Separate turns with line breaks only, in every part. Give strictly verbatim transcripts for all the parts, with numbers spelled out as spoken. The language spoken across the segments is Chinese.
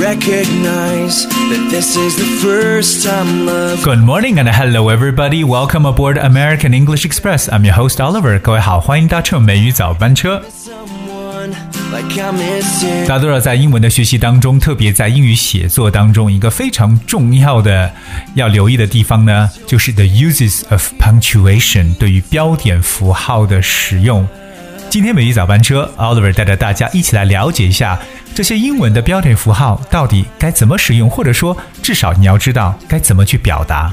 recognize that this is the first time love.
Good morning and hello everybody. Welcome aboard American English Express. I'm your host Oliver. 各位好，欢迎搭乘美语早班车。大家都知道，在英文的学习当中，特别在英语写作当中，一个非常重要的要留意的地方呢，就是 the uses of punctuation 对于标点符号的使用。今天美语早班车 Oliver 带着大家一起来了解一下这些英文的标点符号到底该怎么使用，或者说至少你要知道该怎么去表达。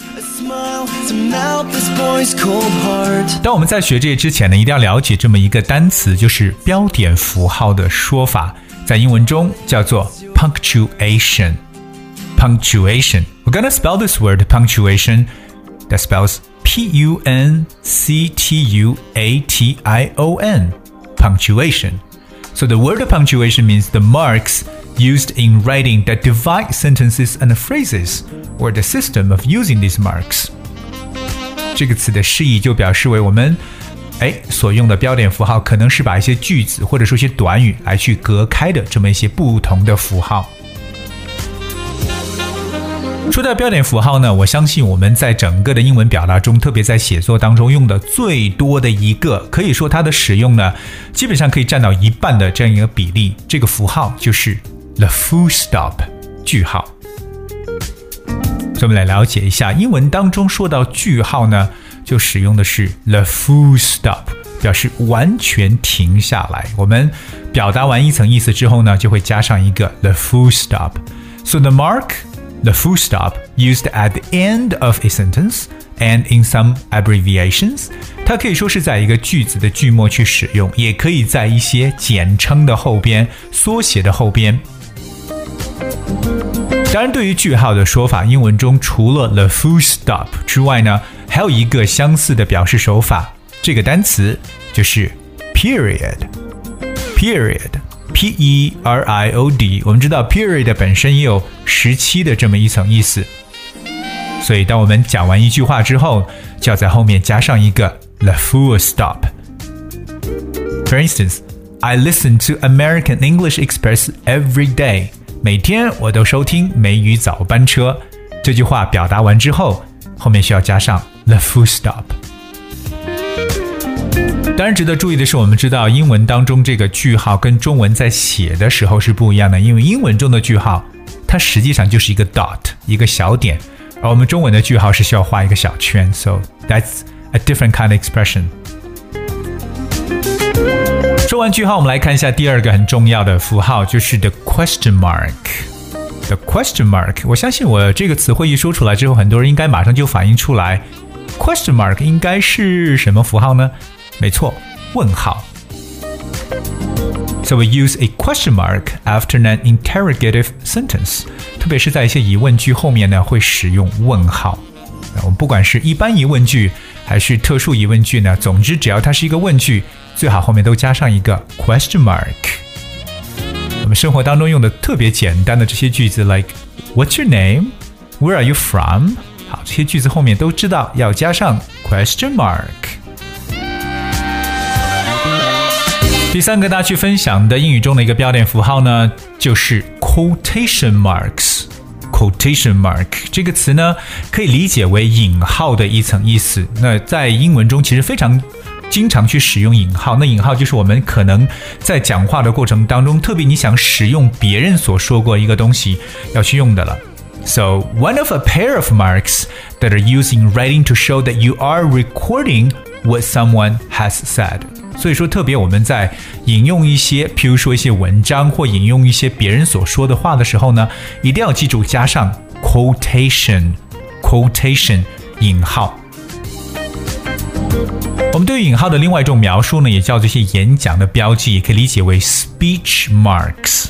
当我们在学这些之前呢，一定要了解这么一个单词，就是标点符号的说法，在英文中叫做 punctuation. Punctuation. We're gonna spell this word punctuation. That spells P U N C T U A T I O N. Punctuation. So the word punctuation means the marks used in writing that divide sentences and phrases, or the system of using these marks. 这个词的释义就表示为我们哎所用的标点符号可能是把一些句子或者说一些短语来去隔开的这么一些不同的符号。说到标点符号呢，我相信我们在整个的英文表达中，特别在写作当中用的最多的一个，可以说它的使用呢基本上可以占到一半的这样一个比例，这个符号就是 the full stop 句号。所以我们来了解一下，英文当中说到句号呢，就使用的是 the full stop， 表示完全停下来。我们表达完一层意思之后呢，就会加上一个 the full stop. So the mark, the full stop, used at the end of a sentence and in some abbreviations, 它可以说是在一个句子的句末去使用，也可以在一些简称的后边、缩写的后边。当然，对于句号的说法，英文中除了 the full stop 之外呢，还有一个相似的表示手法，这个单词就是 period. Period, P E R I O D. 我们知道 period 本身也有时期的这么一层意思，所以当我们讲完一句话之后，就要在后面加上一个 the full stop. For instance, I listen to American English Express every day.每天我都收听美语早班车，这句话表达完之后，后面需要加上 the full stop。 当然值得注意的是，我们知道英文当中这个句号跟中文在写的时候是不一样的，因为英文中的句号它实际上就是一个 dot 一个小点，而我们中文的句号是需要画一个小圈， so that's a different kind of expression。说完句号，我们来看一下第二个很重要的符号，就是 the question mark. The question mark， 我相信我这个词汇一说出来之后，很多人应该马上就反应出来 question mark 应该是什么符号呢？没错，问号。So we use a question mark after an interrogative sentence. 特别是在一些疑问句后面呢，会使用问号。我们不管是一般疑问句还是特殊疑问句呢，总之只要它是一个问句，最好后面都加上一个 question mark。 我们生活当中用的特别简单的这些句子 like What's your name? Where are you from? 好，这些句子后面都知道要加上 question mark。 第三个大家去分享的英语中的一个标点符号呢，就是 quotation marks。Quotation mark 这个词呢，可以理解为引号的一层意思。那在英文中其实非常经常去使用引号，那引号就是我们可能在讲话的过程当中，特别你想使用别人所说过一个东西要去用的了。So one of a pair of marks that are used in writing to show that you are recording what someone has said. 所以说特别我们在引用一些譬如说一些文章或引用一些别人所说的话的时候呢，一定要记住加上 quotation quotation 引号。我们对于引号的另外一种描述呢，也叫这些演讲的标记，也可以理解为 speech marks。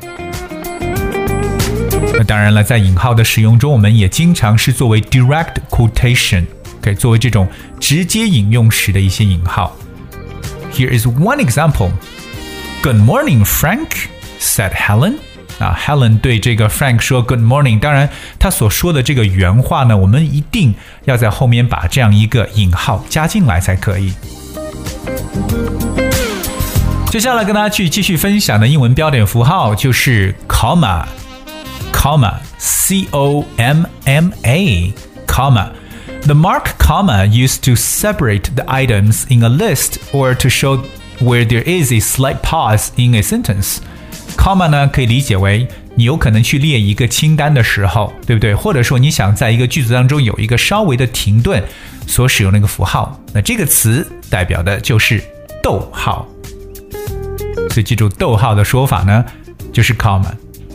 那当然了，在引号的使用中，我们也经常是作为 direct quotation， 可以作为这种直接引用时的一些引号。Here is one example. Good morning, Frank, said Helen. 啊 Helen 对这个 Frank 说 Good morning， 当然他所说的这个原话呢，我们一定要在后面把这样一个引号加进来才可以。接下来跟大家去继续分享的英文标点符号就是 comma comma, C O M M A, comma. The mark comma used to separate the items in a list or to show where there is a slight pause in a sentence. Comma 呢可以理解为你有可能去列一个清单的时候，对不对？或者说你想在一个句子当中有一个稍微的停顿所使用的一个符号，那这个词代表的就是逗号。所以记住逗号的说法呢就是 comma.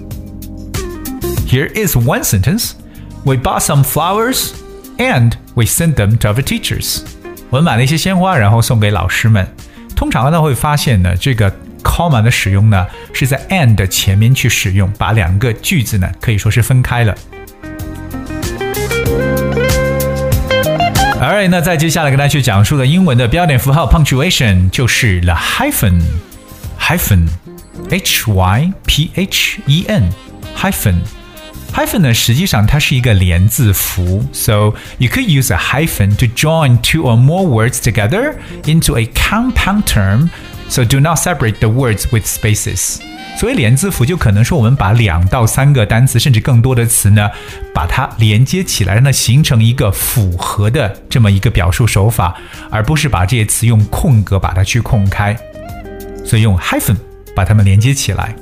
Here is one sentence. We bought some flowers and we sent them to our teachers. 我们买了一些鲜花，然后送给老师们。通常呢会发现呢，这个 comma 的使用呢是在 and 前面去使用，把两个句子呢可以说是分开了。Alright， 那再接下来跟大家去讲述的英文的标点符号 punctuation 就是 the hyphen hyphen H Y P H E N hyphen hyphen 呢实际上它是一个连字符 so you could use a hyphen to join two or more words together into a compound term, so do not separate the words with spaces. 所以连字符就可能说我们把两到三个单词甚至更多的词呢把它连接起来，让它形成一个复合的这么一个表述手法，而不是把这些词用空格把它去空开，所以用 hyphen 把它们连接起来。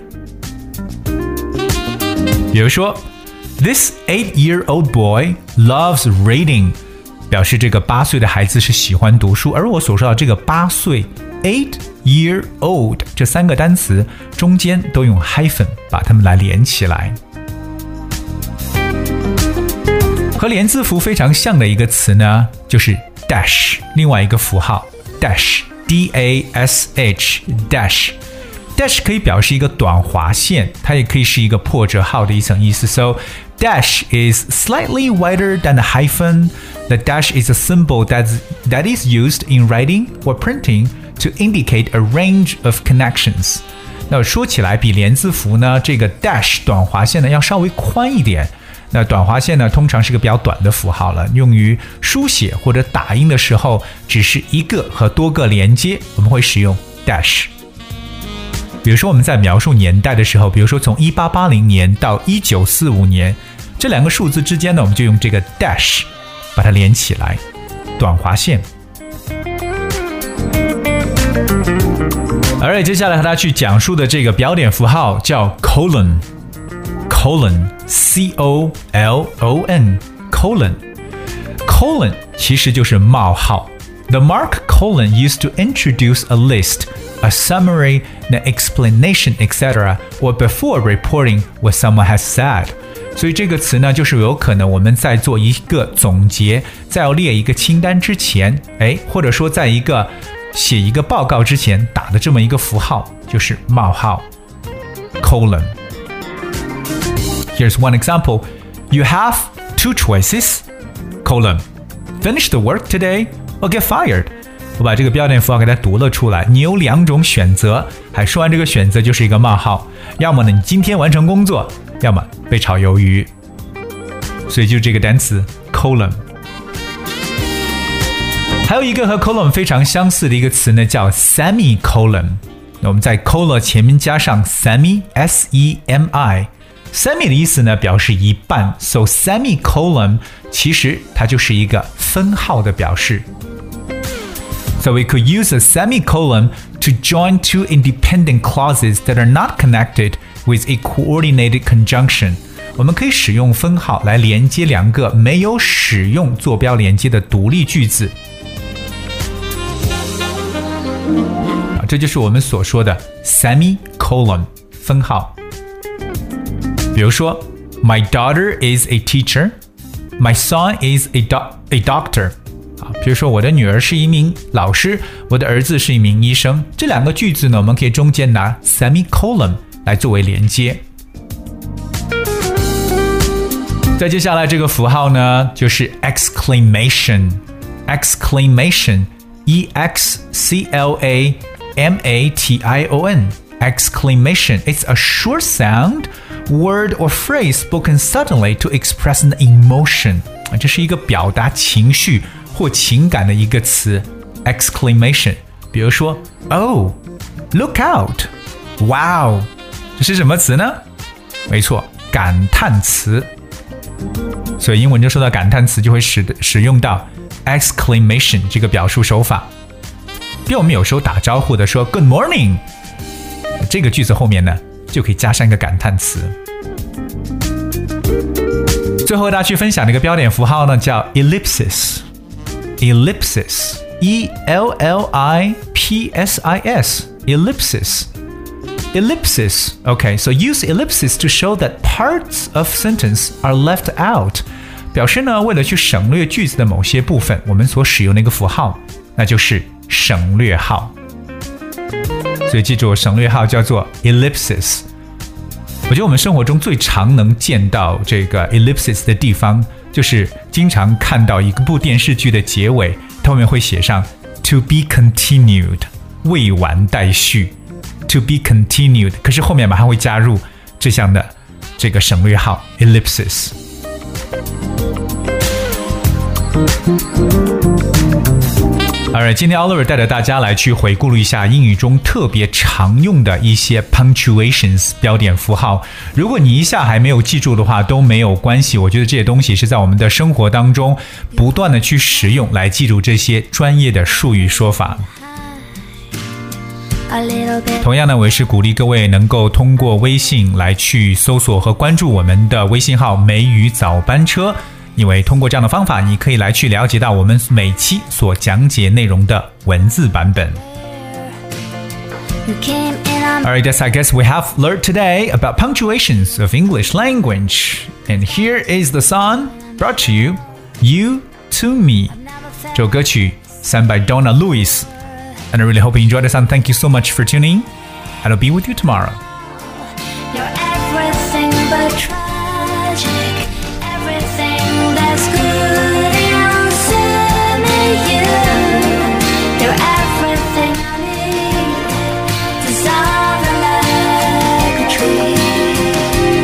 比如说 This eight-year-old boy loves reading， 表示这个八岁的孩子是喜欢读书，而我所说的这个八岁 eight-year-old 这三个单词中间都用 hyphen 把它们来连起来。和连字符非常像的一个词呢就是 dash， 另外一个符号 dash D A S H dash dash 可以表示一个短划线，它也可以是一个破折号的一层意思。 So dash is slightly wider than the hyphen. The dash is a symbol that, that is used in writing or printing to indicate a range of connections. 那说起来比连字符呢这个 dash 短划线呢要稍微宽一点。那短划线呢通常是个比较短的符号了，用于书写或者打印的时候只是一个和多个连接，我们会使用 dash。比如说我们在描述年代的时候，比如说从一八八零年到一九四五年，这两个数字之间呢我们就用这个 dash 把它连起来，短划线。Alright， 接下来和大家去讲述的这个标点符号叫 colon colon C O L O N colon colon 其实就是冒号。 The mark colon used to introduce a list, a summary, an explanation, et cetera, or before reporting what someone has said. 所以这个词呢就是有可能我们在做一个总结，在要列一个清单之前，哎，或者说在一个写一个报告之前打的这么一个符号，就是冒号 colon。 Here's one example. You have two choices, colon. Finish the work today or get fired. 我把这个标点符号给它读了出来，你有两种选择，还说完这个选择就是一个冒号，要么呢你今天完成工作，要么被炒鱿鱼。所以就这个单词 colon。 还有一个和 colon 非常相似的一个词呢叫 semicolon。 那我们在 colon 前面加上 semi S E M I， semi 的意思呢表示一半， so semicolon 其实它就是一个分号的表示。So we could use a semicolon to join two independent clauses that are not connected with a coordinated conjunction. 我们可以使用分号来连接两个没有使用坐标连接的独立句子。这就是我们所说的 semicolon 分号。比如说 My daughter is a teacher. My son is a, do- a doctor.比如说我的女儿是一名老师，我的儿子是一名医生，这两个句子呢我们可以中间拿 semicolon 来作为连接。再接下来这个符号呢就是 exclamation exclamation E X C L A M A T I O N exclamation. It's a short sound, word or phrase spoken suddenly to express an emotion. 这是一个表达情绪或情感的一个词 exclamation。 比如说 Oh, look out. Wow， 这是什么词呢？没错， 感叹词，所以英文中说到感叹词就会 使, 使用到 exclamation 这个表述手法。比如我们有时候打招呼的说 Good morning， 这个句子后面呢就可以加上一个感叹词。最后大家去分享的一个标点符号呢叫 ellipsis ellipsis E L L I P S I S ellipsis ellipsis okay so use ellipsis to show that parts of sentence are left out， 表示呢为了去省略句子的某些部分，我们所使用的一个符号那就是省略号。所以记住省略号叫做 ellipsis。我觉得我们生活中最常能见到这个 ellipsis 的地方，就是经常看到一部电视剧的结尾，它后面会写上 to be continued 未完待续 to be continued， 可是后面马上会加入这项的这个省略号 ellipsis。Alright， 今天 Oliver 带着大家来去回顾了一下英语中特别常用的一些 punctuations 标点符号。如果你一下还没有记住的话都没有关系，我觉得这些东西是在我们的生活当中不断的去使用，来记住这些专业的术语说法。同样呢，我也是鼓励各位能够通过微信来去搜索和关注我们的微信号梅雨早班车，因为通过这样的方法你可以来去了解到我们每期所讲解内容的文字版本。Alright, yes, I guess we have learned today about punctuations of English language. And here is the song brought to you, You to Me. 这首歌曲 sung by Donna Lewis. And I really hope you enjoyed the song. Thank you so much for tuning. And I'll be with you tomorrow.
You're everything but tragic. Everything that's good inside you. You're everything I need. Dissolving like a tree.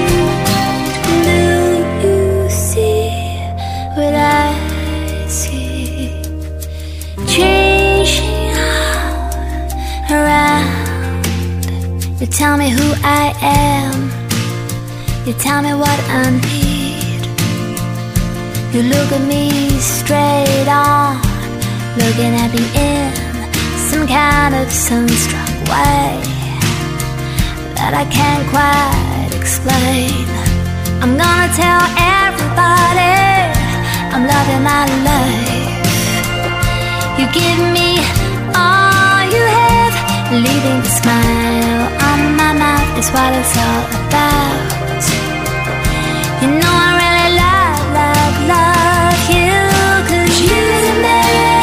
Do you see what I see? Changing all around. You tell me who I am. You tell me what I need. You look at me straight on, looking at me in some kind of sunstruck way that I can't quite explain. I'm gonna tell everybody I'm loving my life. You give me all you have, leaving a smile on my mouth is what it's all about. You know I really love, love, love you, 'cause you to me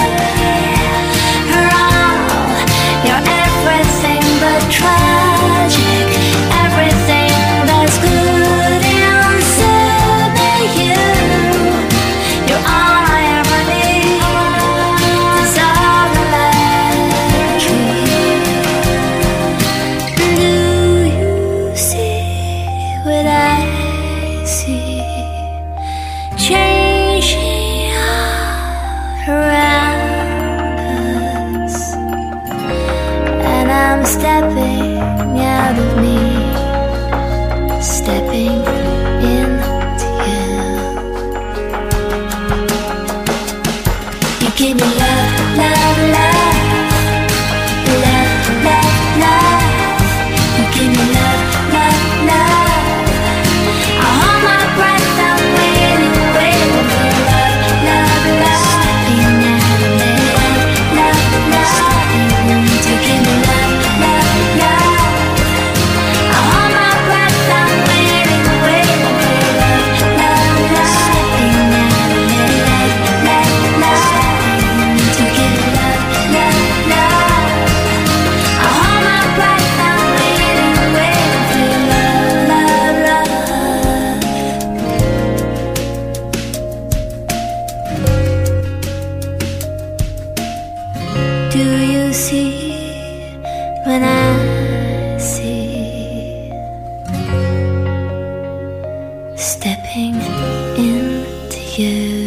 are all. You're everything but tragic. Everything that's good inside you. You're all I ever need. Dissolving like a tree. Do you see what I see? Changing all around us, and I'm stepping out of me, stepping into you. You give me love, love, love, love, love, love. You give me love, love, love. I hold my breath, I'm waiting, waiting for love, love, love. Stepping out of me, love, love. You give me love, love, love. I hold my breath, I'm waiting, waiting for love, love, love. Stepping out of me, love, love, love. You give me love, love, love. I hold my breath, I'm waiting, waiting for love, love, love. Do you see when I see? Stepping into you.